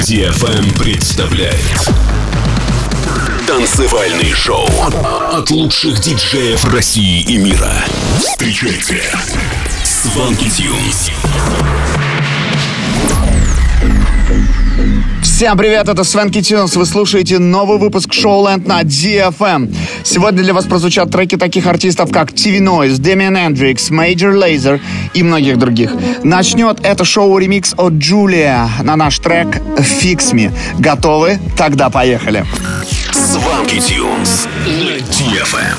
DFM представляет танцевальный шоу от лучших диджеев России и мира. Встречайте Swanky Tunes. Всем привет, это Swanky Tunes. Вы слушаете новый выпуск Showland на DFM. Сегодня для вас прозвучат треки таких артистов, как TV Noise, Damian Hendrix, Major Lazer и многих других. Начнет это шоу ремикс от Джулия на наш трек Fix Me. Готовы? Тогда поехали. Swanky Tunes на DFM.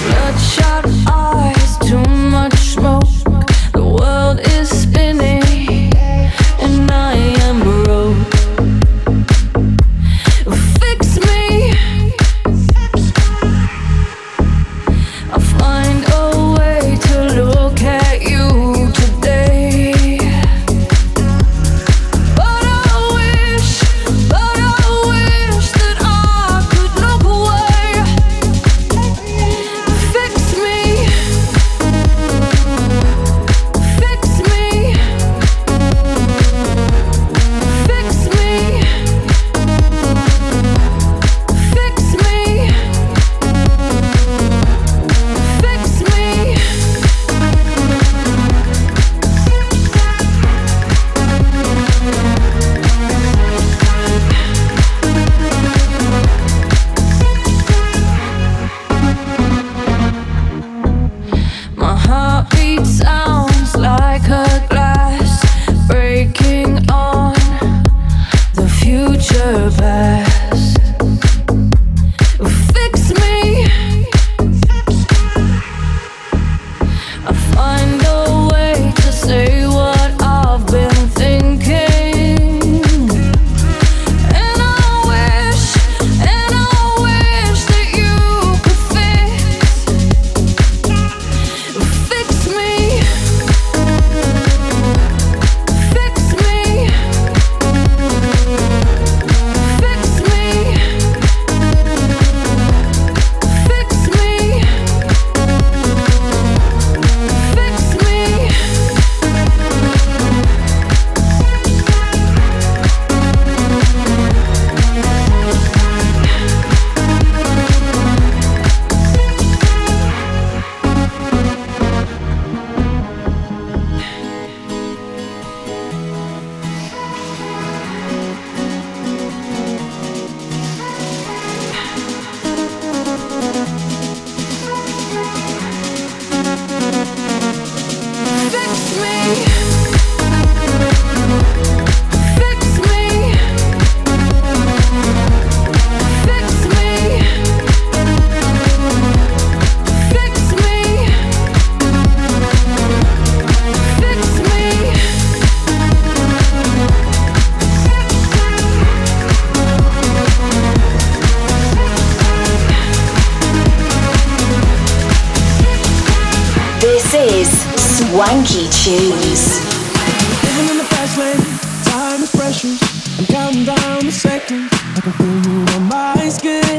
Swanky Tunes. Living in the fast lane, time is precious. I'm counting down the seconds. I can feel you on my skin.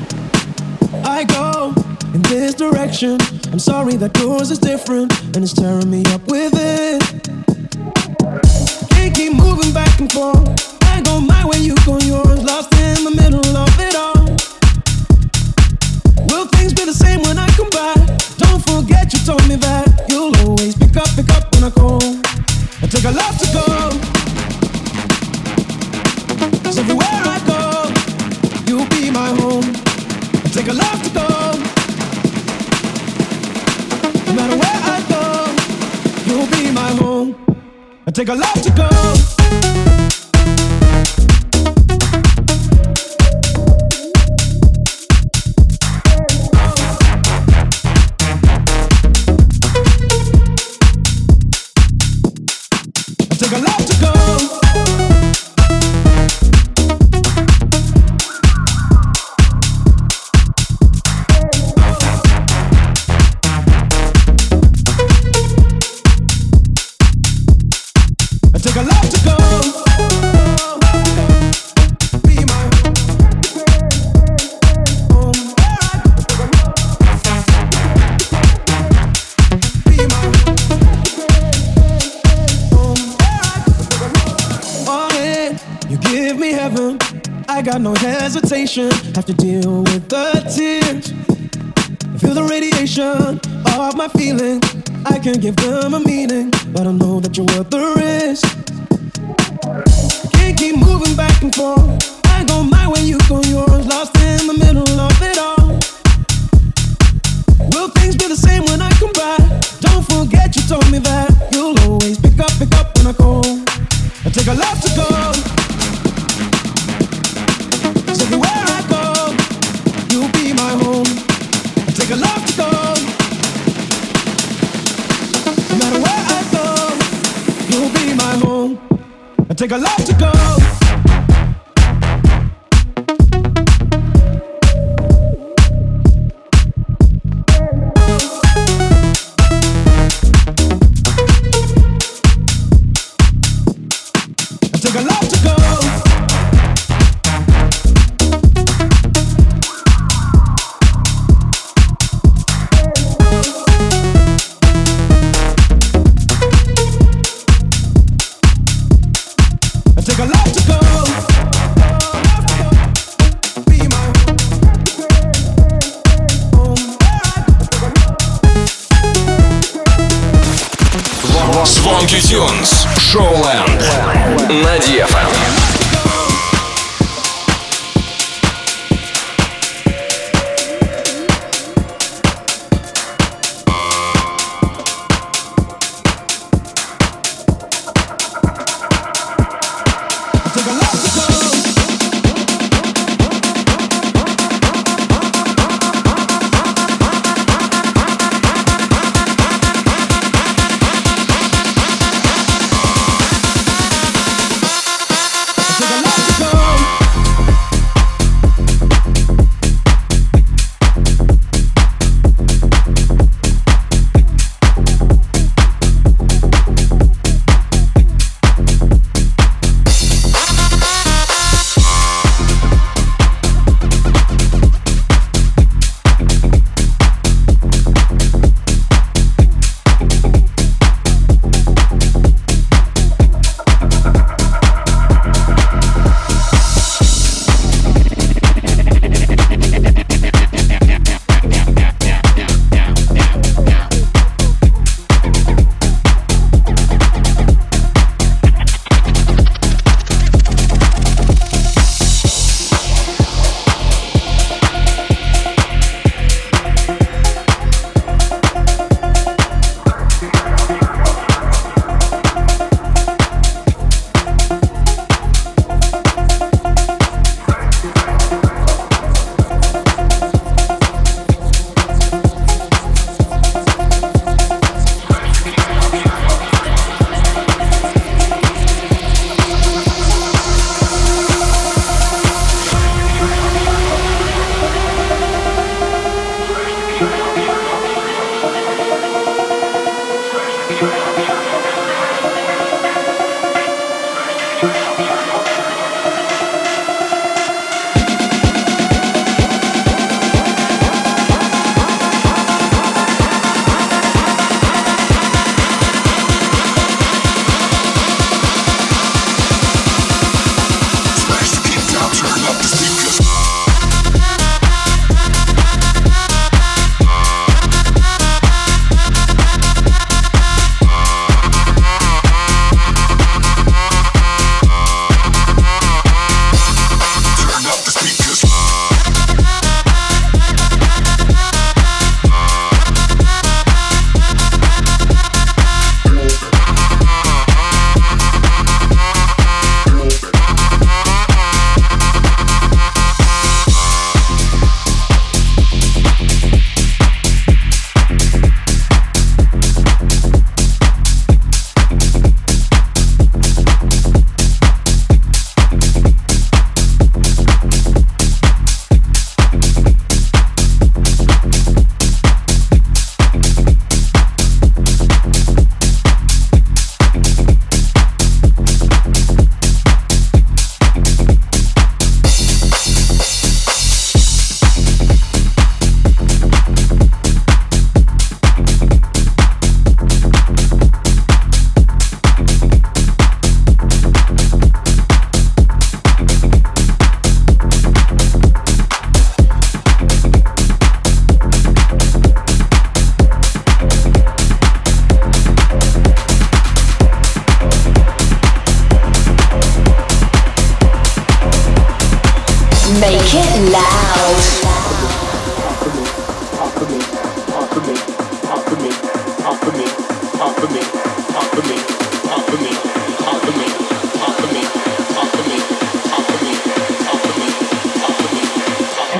I go in this direction. I'm sorry that yours is different, and it's tearing me up within. Can't keep moving back and forth. I go my way, you go yours. Lost in the middle of it all. Will things be the same when I come back? Don't forget you told me that you'll always pick up when I call. I take a lot to go. 'Cause everywhere I go, you'll be my home. I take a lot to go. No matter where I go, you'll be my home. I take a lot to go. Take a lot to go. I take a lot to go. Be my home. Be my home. You give me heaven. I got no hesitation. Have to deal with the tears. Feel the radiation of my feelings. I can't give them a meaning, but I know that you're worth the risk. Can't keep moving back and forth. I go my way, you go yours. Lost in the middle of it all. Will things be the same when I come back? Don't forget you told me that you'll always pick up when I call. I take a lot to go. 'Cause everywhere I go, you'll be my home. I take a lot to go. No matter where I go, you'll be my home. I take a lot to go. Take a lot to go. Take a lot to go. Be my home. Swanky Tunes, Showland на DFM.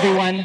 Everyone.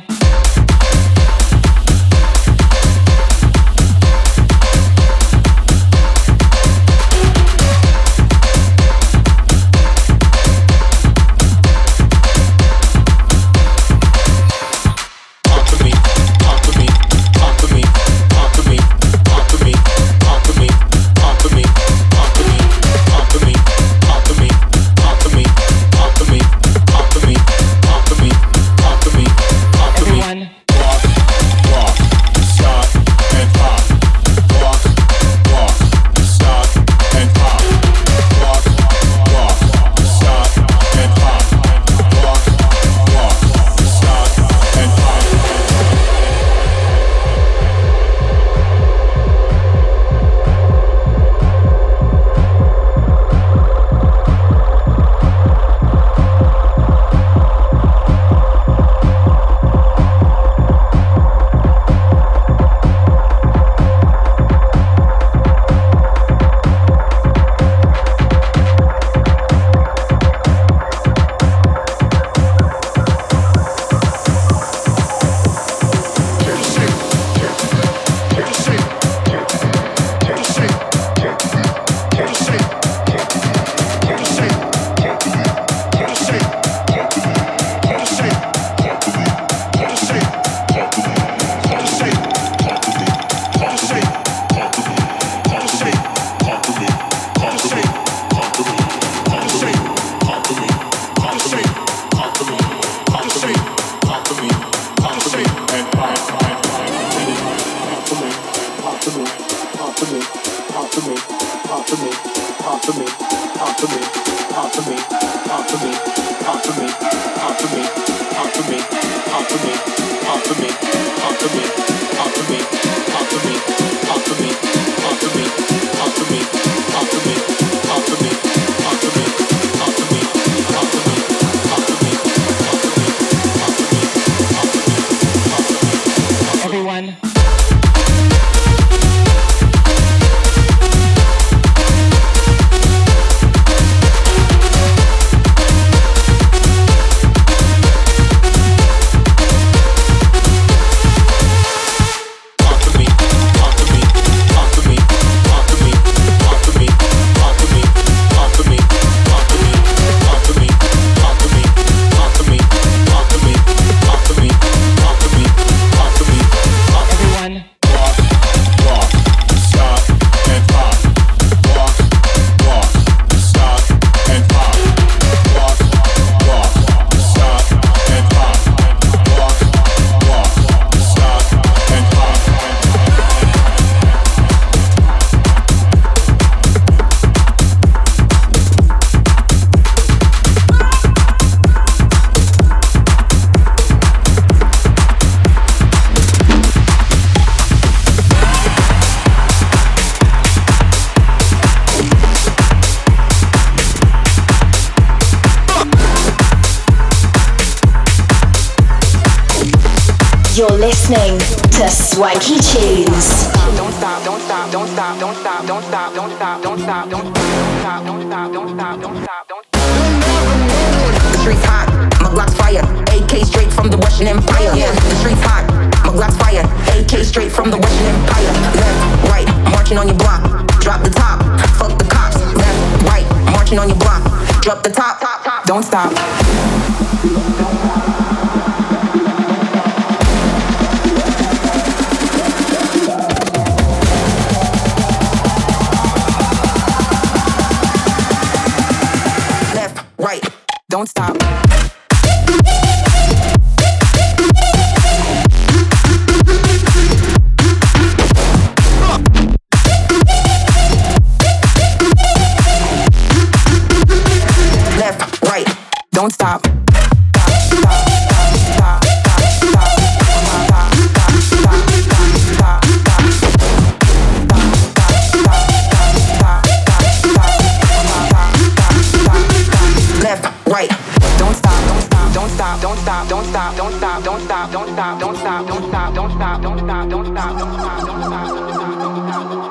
You're listening to Swanky Tunes. Don't stop, don't stop, don't stop, don't stop, don't stop, don't stop, don't stop, don't stop, don't stop, don't stop, don't stop, don't stop. The streets hot, my Glock's fire. AK straight from the Russian Empire. Yeah, the streets hot, my Glock's fire. AK straight from the Russian Empire. Left, right, marching on your block. Drop the top, fuck the cops. Left, right, marching on your block. Drop the top, don't stop. Right, don't stop. Left, right, don't stop. Right, don't stop, don't stop, don't stop, don't stop, don't stop, don't stop, don't stop, don't stop, don't stop, don't stop, don't stop, don't stop, don't stop, don't stop, don't stop.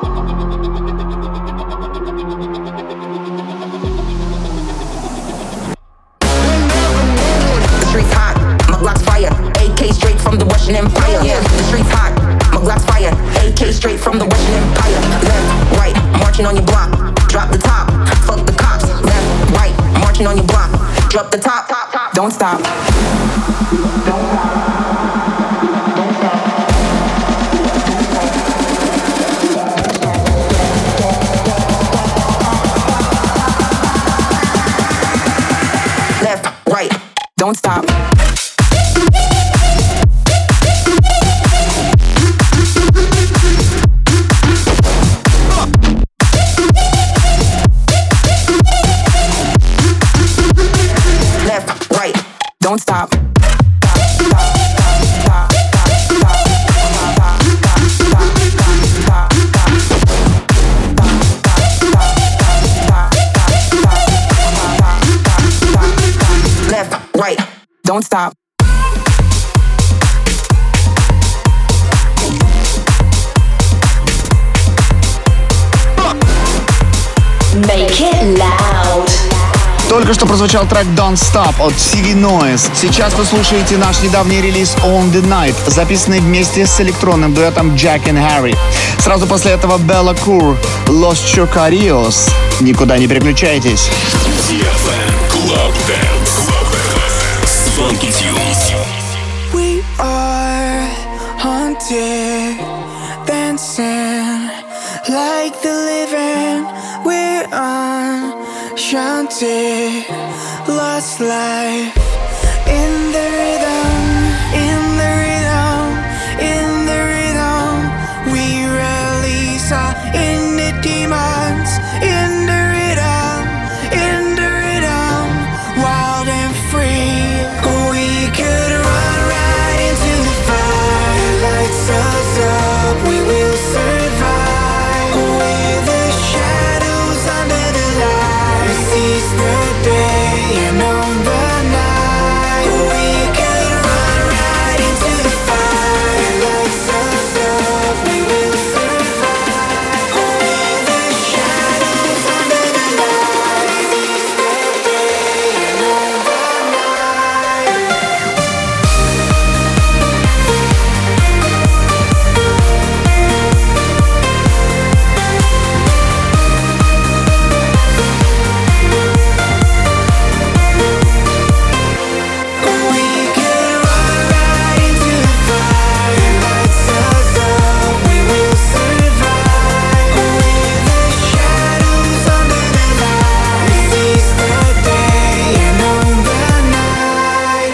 The streets hot, my Glock's fire. AK straight from the Russian Empire. Left, right, marching on your block. Drop the top, fuck the cops. Left, right, marching on your block. Drop the top, don't stop. left, right, don't stop. left, right, don't stop. left, right, don't stop. Make it loud. Только что прозвучал трек Don't Stop от CV Noise. Сейчас вы слушаете наш недавний релиз On The Night, записанный вместе с электронным дуэтом Jack and Harry. Сразу после этого Bella Cour, Los Chocarios. Никуда не переключайтесь. Club Dance. Funky Tunes. We are haunted, dancing like the living. We're enchanted, lost life in the rhythm, in the rhythm, in the rhythm. We release our inner demons in the rhythm, in the rhythm, wild and free. We could run right into the fire, lights us up, we will survive. With the shadows under the light, seize the day and own the night. We could run right into the fire, lights us up, we will survive. With the shadows under the light, seize the day and own the night. We could run right into the fire, lights us up, we will survive. With the shadows under the light, seize the day and own the night.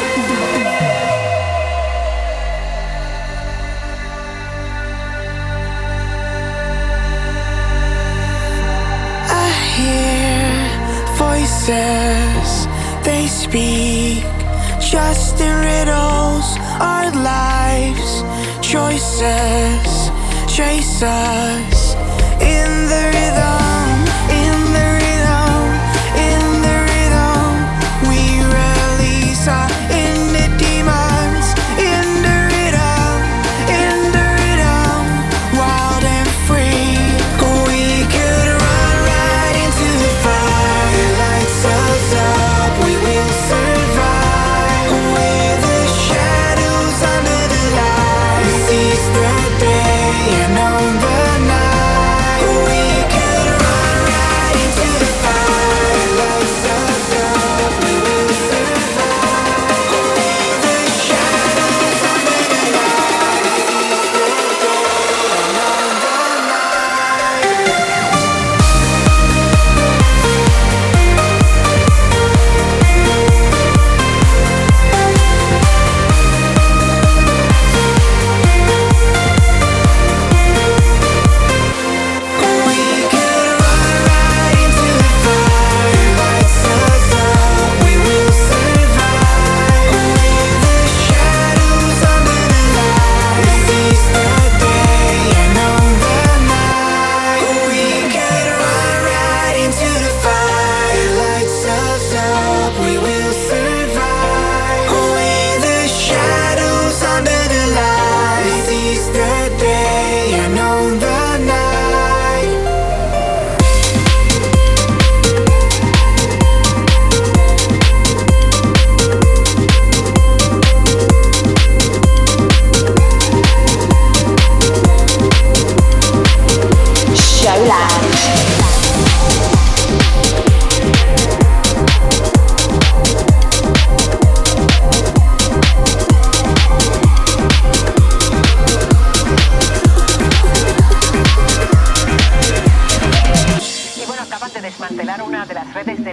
I hear voices, they speak just in riddles. Our lives, choices, chase us in the rhythm, in the rhythm, in the rhythm. We release our inner demons in the rhythm, in the rhythm, wild and free. We could run right into the fire, lights us up, we will survive. With the shadows under the light, seize the day and own the night. We could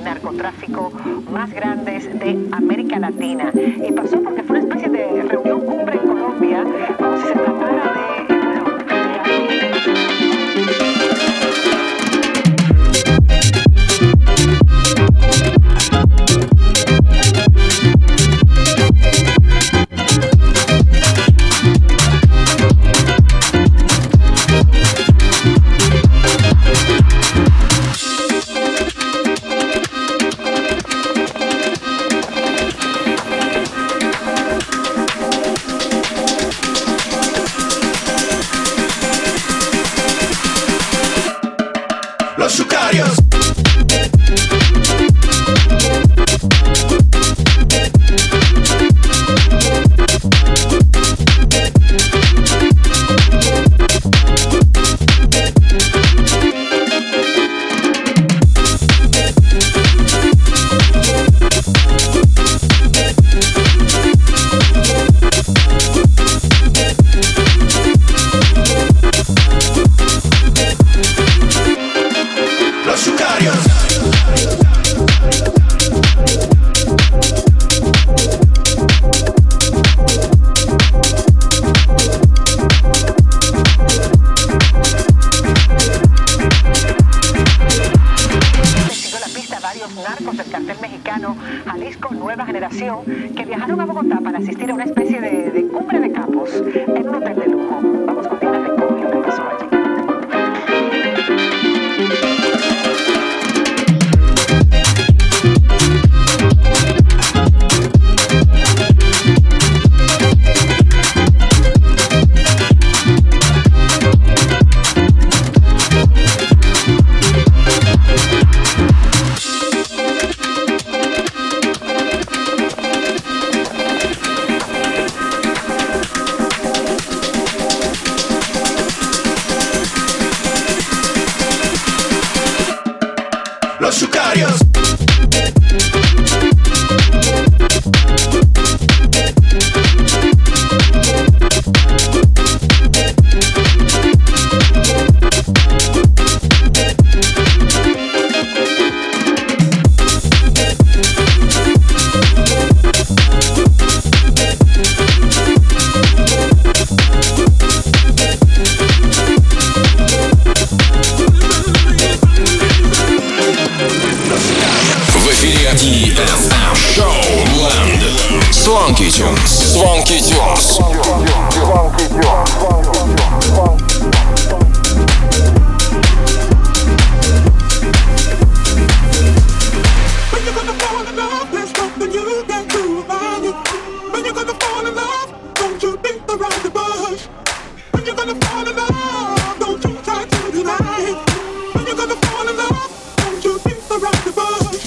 narcotráfico más grandes de América Latina. Y pasó porque fue una especie de reunión cumbre en Colombia, como si se tratara de... que viajaron a Bogotá para asistir a una especie de cumbre de capos en un hotel de lujo. Vamos con Diana Recón y lo que pasó allí. Swanky Tunes. Swanky Tunes. When you're gonna fall in love, there's nothing you can do about it. When you're gonna fall in love, don't you beat around the bush. When you're gonna fall in love, don't you try to deny it. When you're gonna fall in love, don't you beat around the bush.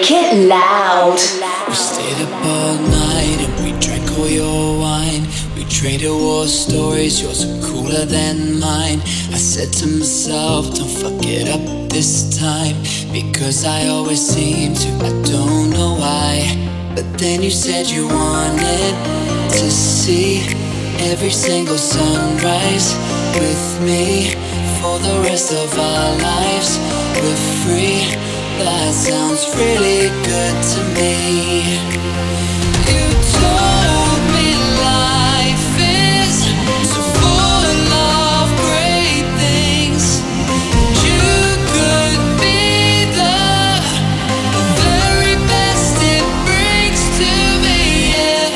Make it loud. We stayed up all night and we drank all your wine. We traded war stories, yours are cooler than mine. I said to myself, don't fuck it up this time, because I always seem to, I don't know why. But then you said you wanted to see every single sunrise with me for the rest of our lives. We're free, that sounds really good to me. You told me life is so full of great things. You could be the very best it brings to me, yeah.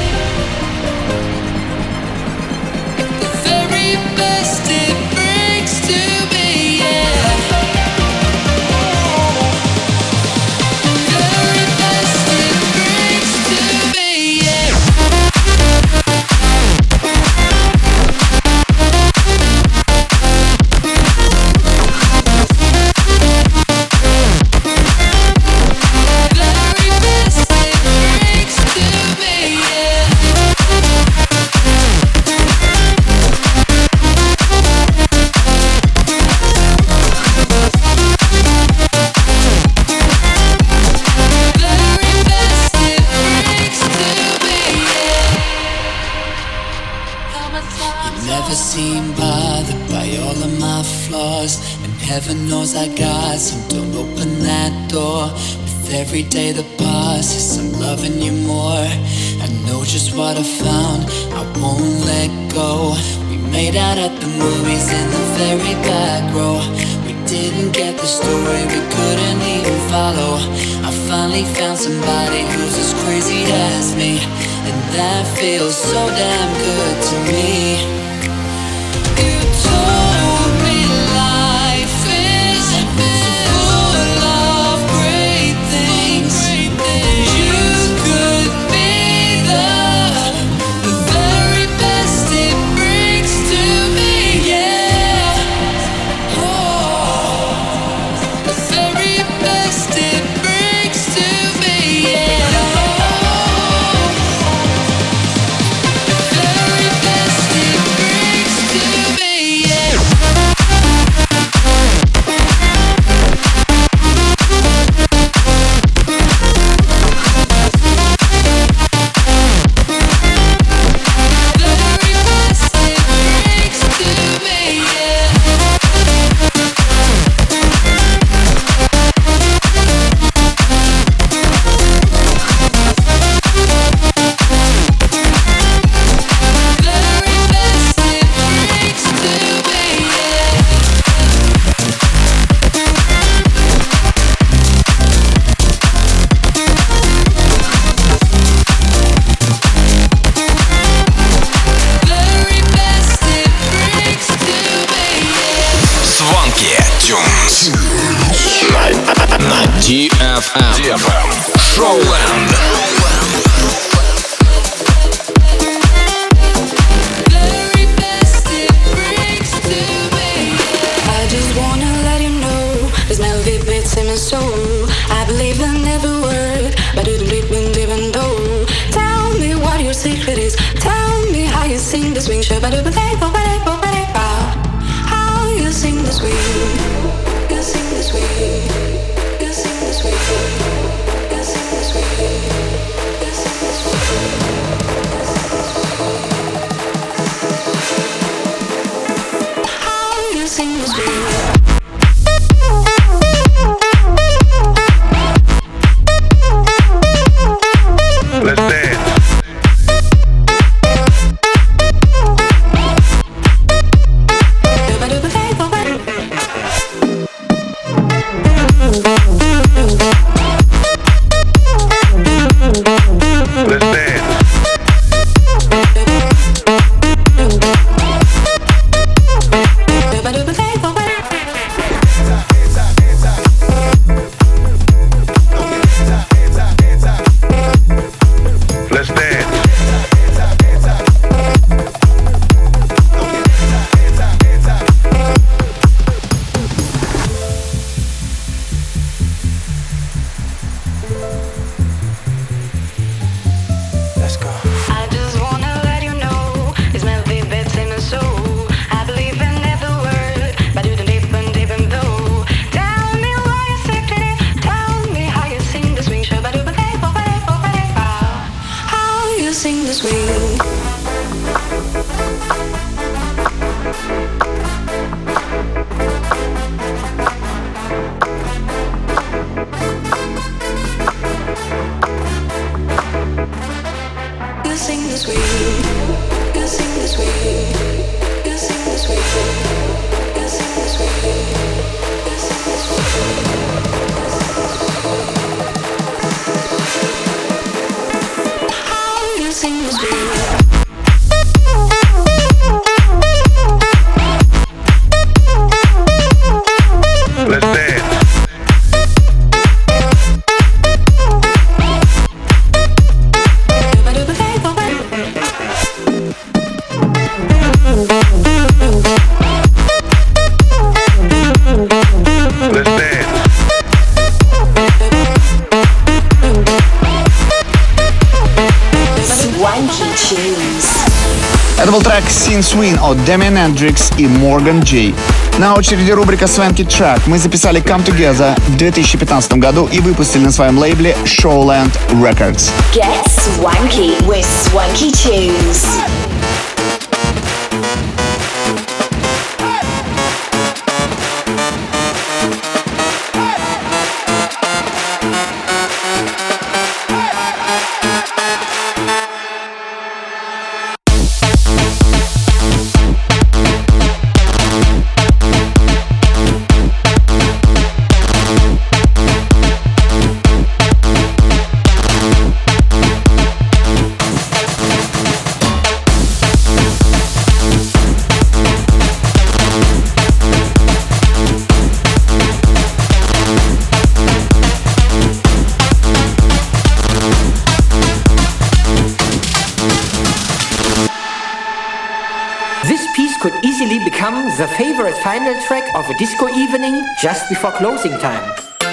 The very best it brings to me, yeah. Very best it brings to me, yeah. Very best it brings to me, yeah. Very best it brings to me, yeah. You never seem bothered by all of my flaws, and heaven knows I got some. Don't open that door. With every day that passes, I'm loving you more. I know just what I found, I won't let go. We made out at the movies in the very back row. We didn't get the story, we couldn't even follow. I finally found somebody who's as crazy as me, and that feels so damn good to me. You told me life is so full of great things. You could be the very best it brings to me, yeah. Oh, the very best it brings to me, yeah. Very best it brings to me, yeah. Very best it brings to me, yeah. Very best it brings to me, yeah. Very best it brings to me, yeah. Swanky Tunes на DFM. Showland. Very best it brings to me, yeah. I just wanna let you know this melody beats in my soul. I believe in every word, but it didn't even know. Tell me what your secret is. Tell me how you sing the swing. How you sing the swing. You sing the swing. You sing the swing. You sing the swing. You sing the swing. How you sing the swing. Let's dance. Это был трек Sin Swing от Damien Hendrix и Morgan J. На очереди рубрика Swanky Track. Мы записали Come Together в 2015 году и выпустили на своем лейбле Showland Records. Get swanky with Swanky Tunes. The favorite final track of a disco evening just before closing time.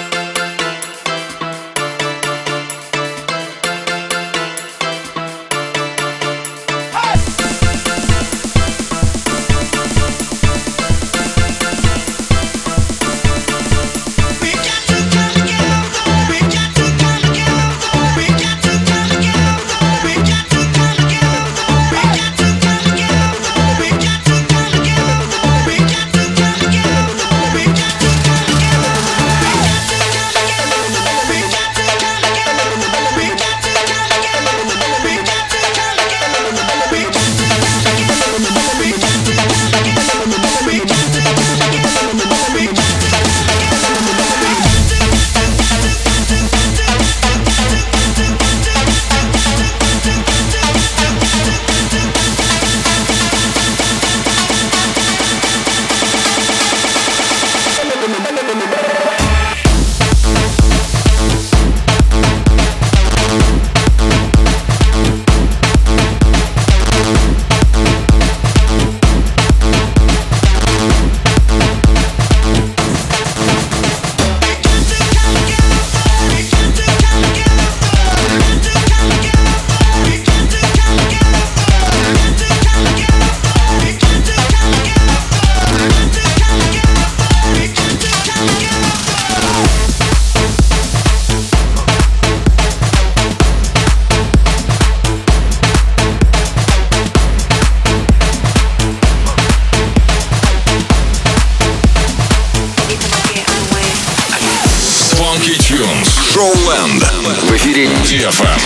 Showland в эфире DFM.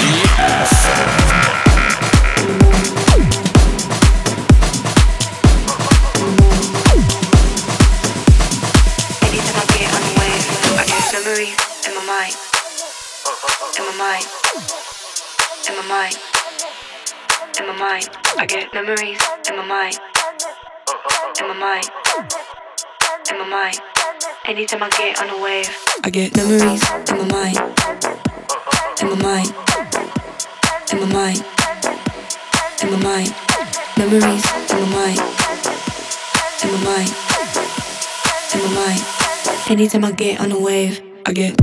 I get memories in my mind. In my mind. In my mind. Anytime I get on a wave, I get memories in my mind. In my mind. In my mind. In my mind. Memories in my mind. In my mind. In my mind. Anytime I get on a wave, I get.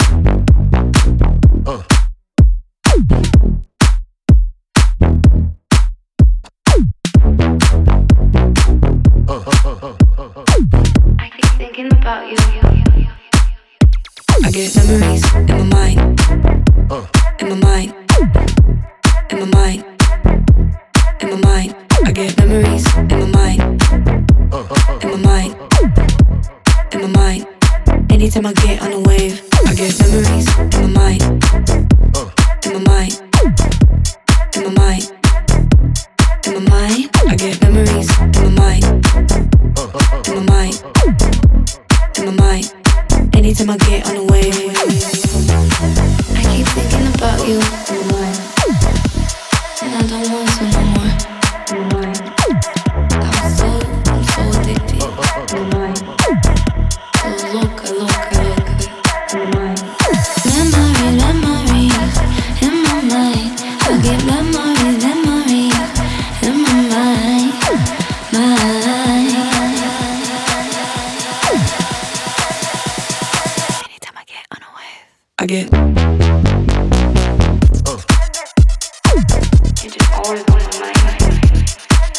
I keep thinking about you. I get memories in my mind. In my mind. In my mind. In my mind. I get memories in my mind. In my mind. In my mind. Anytime I get on a wave, I get memories in my mind. In my mind. In my mind. In my mind. I get memories in my mind. In my mind. In my mind. Anytime I get on a wave, I keep thinking about you. And I don't want to no more. I'm so addicted. So loca. Memories in my mind. I get memories in my mind. Anytime I get on a wave, I get. You just always on my mind.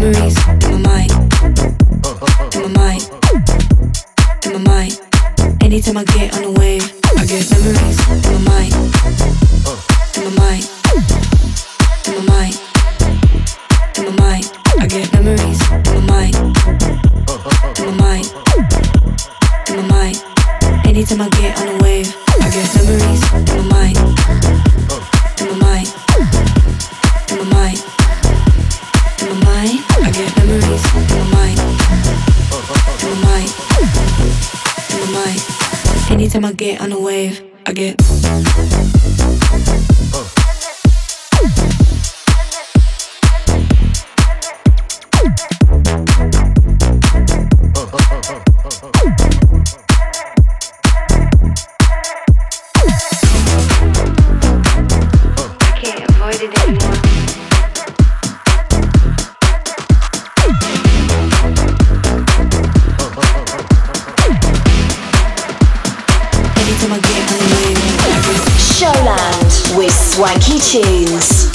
memories in my mind, in my mind, in my mind. Anytime I get on a wave, I get memories in my mind, in my mind, in my mind, in my mind. I get memories in my mind, in my mind, in my mind. Anytime I get on a wave, I get memories in my mind, in my mind, in my mind, in my mind. I get memories in my mind, in my mind, in my mind. Anytime I get on a wave, I get. Showland with Swanky Tunes.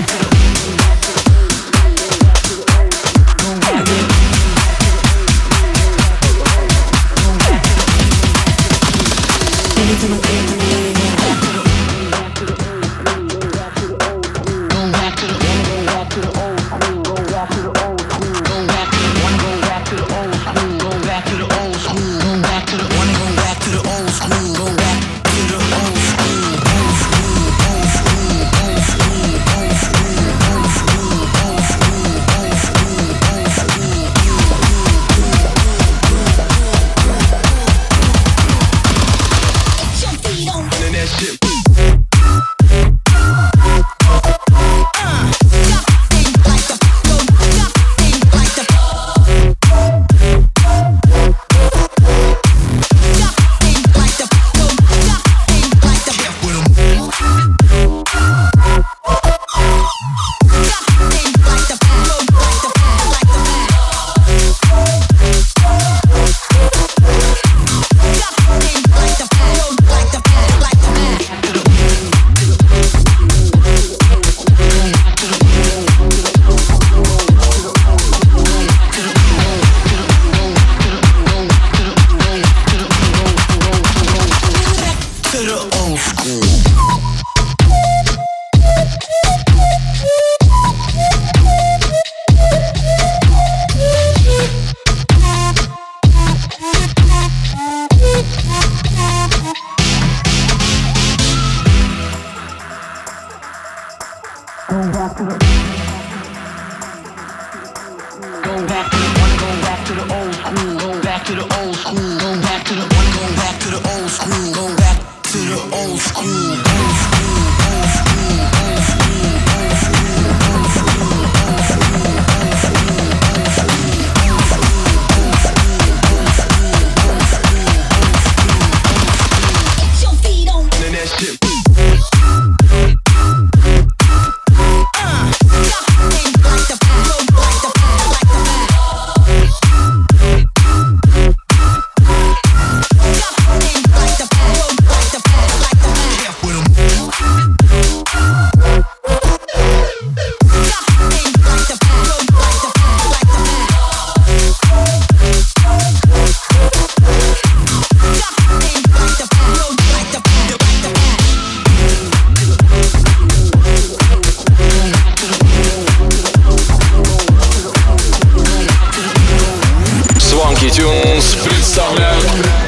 Tunes представляют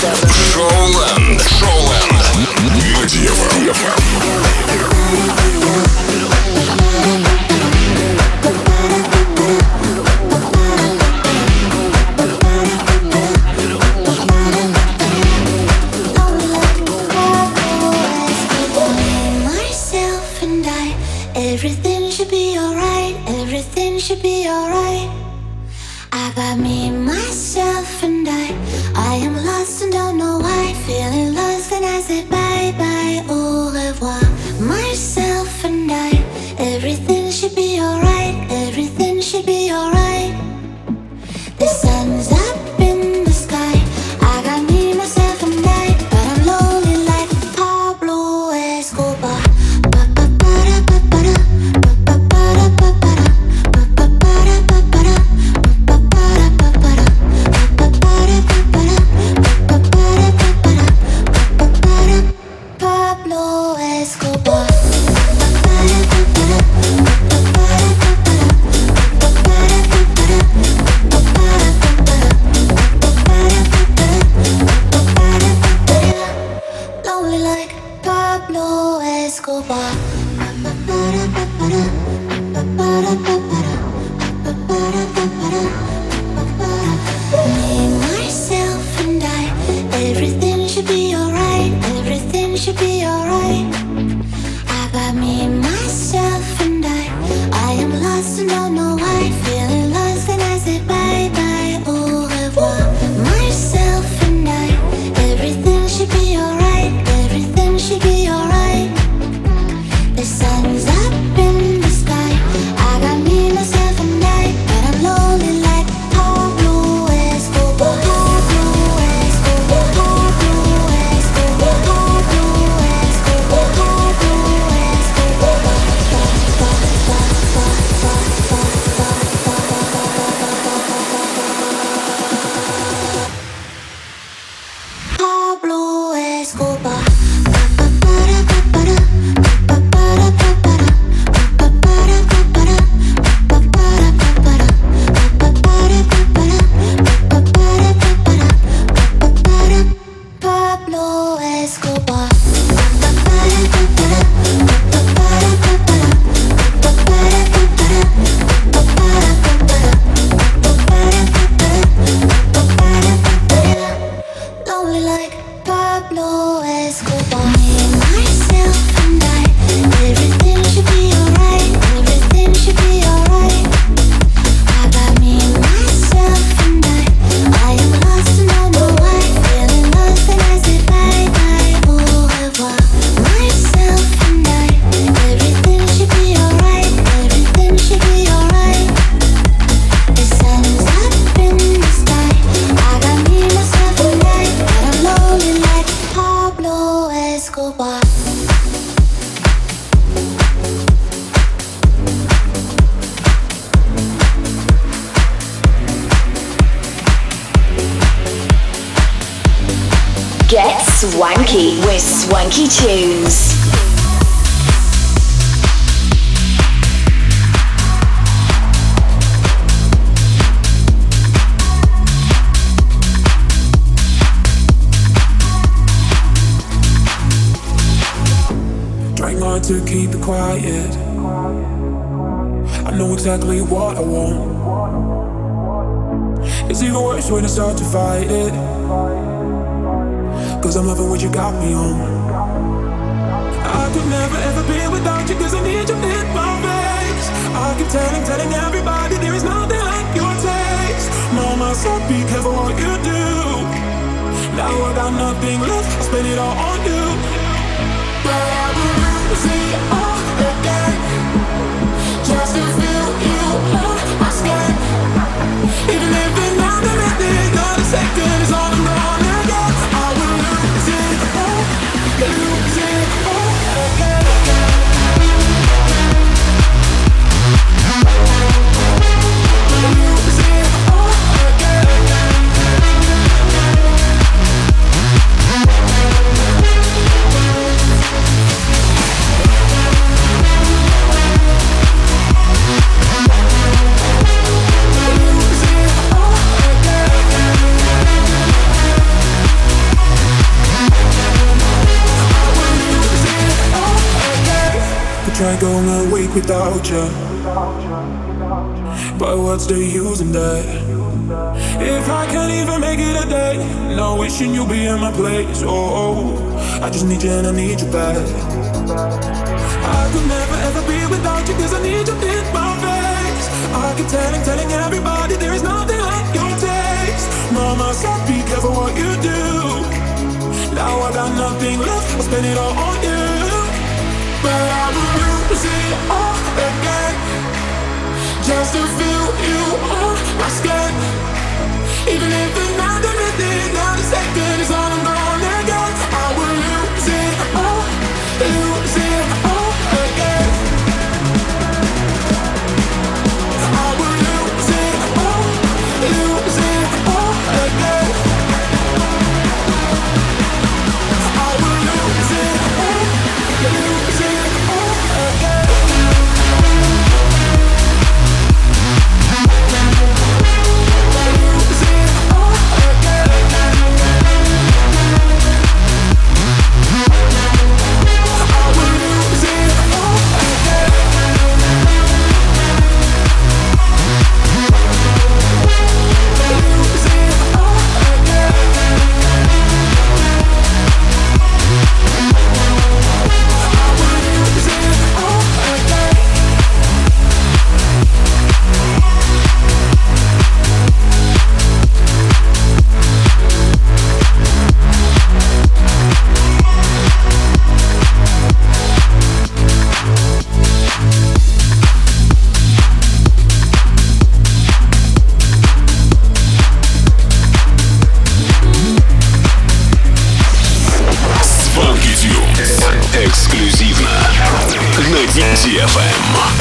Showland. На DFM. Everything should be alright, everything should be alright. I got me, myself and I am lost and don't know why. Feeling lost and I say bye bye, au revoir. Myself and I, everything should be alright, everything should be alright. The sun's up in the sky. I got me, myself and I, but I'm lonely like Pablo Escobar. should be alright. Everything should be alright. I got me, myself, and I am lost and don't know why. Feeling lost and I say bye bye, au revoir. Myself and I, everything should be alright. Everything should be alright. The sun's up in the sky. I got me, myself, and I, but I'm lonely like Pablo Escobar. Pablo Escobar. Pablo Escobar. Pablo Escobar. Pablo Escobar. Pablo Escobar. Pablo Escobar. Lonely like Pablo Escobar. Me and myself and I, everything should be alright. Everything should be alright. I got me, myself, and I am lost and don't know why. Feeling lost and I say bye bye, au revoir. Myself and I, everything should be alright. Everything should be alright. The sun's up in the sky. I got me, myself, and I, but I'm lonely like Pablo Escobar. Get swanky with Swanky Tunes. Trying hard to keep it quiet. I know exactly what I want. It's even worse when I start to fight it. Cause I'm loving what you got me on. I could never ever be without you, cause I need you in my face. I keep telling everybody there is nothing like your taste. Mama said be careful what you do. Now I got nothing left, I spend it all on you. But I will lose it all again, just to feel you on my skin. Even if it's not a minute, not a second, it's all I'm gonna get. I will lose it all again. Lose it all again. Try going a week without you, but what's the use in that? If I can't even make it a day, no wishing you'll be in my place. Oh, I just need you and I need you back. I could never ever be without you, cause I need you in my face. I keep telling everybody there is nothing like your taste. Mama said be careful what you do. Now I got nothing left, I'll spend it all on you. But I will lose it all again, just to feel you on my skin. Even if it's not a minute, not a second, it's all I'm gonna get. I will lose it all again. I will lose it all again. I will lose it all again. Lose it all again. DFM.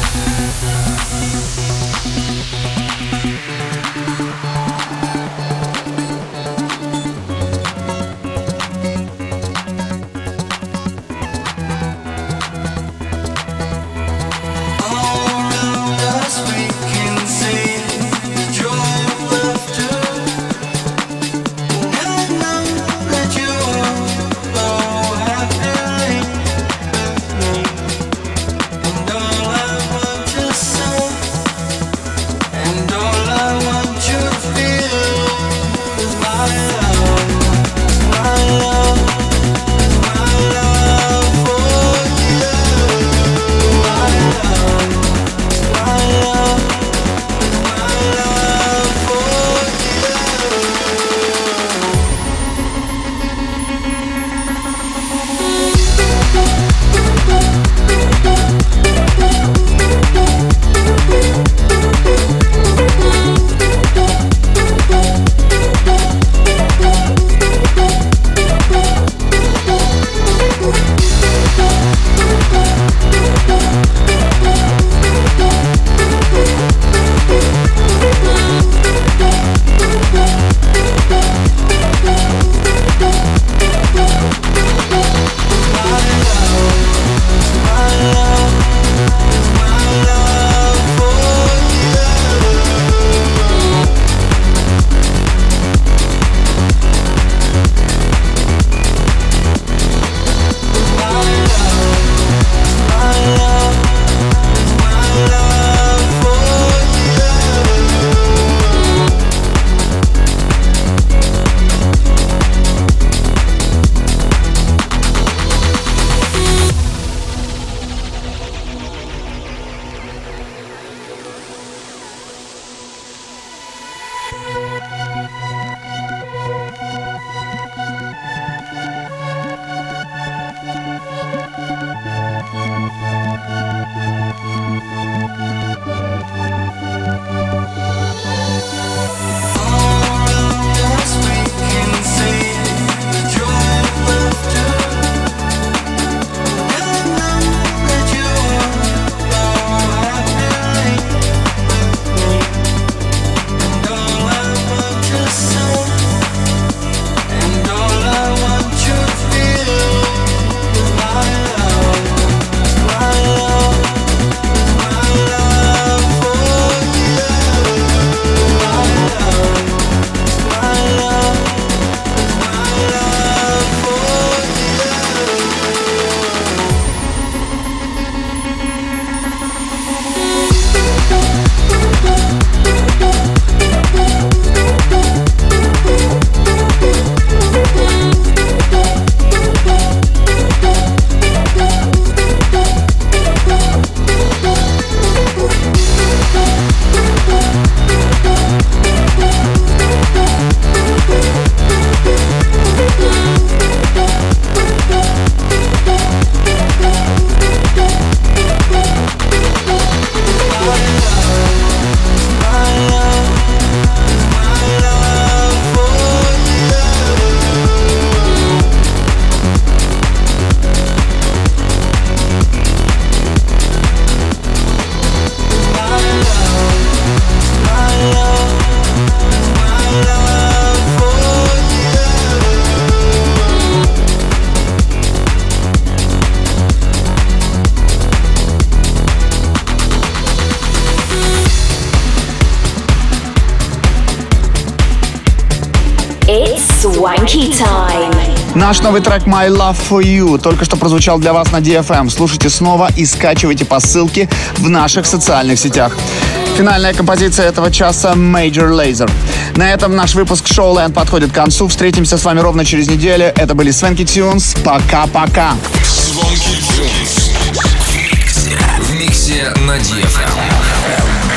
Swanky Time. Наш новый трек My Love For You только что прозвучал для вас на DFM. Слушайте снова и скачивайте по ссылке в наших социальных сетях. Финальная композиция этого часа Major Lazer. На этом наш выпуск Showland подходит к концу. Встретимся с вами ровно через неделю. Это были Swanky Tunes. Пока-пока. Swanky Tunes в миксе на DFM.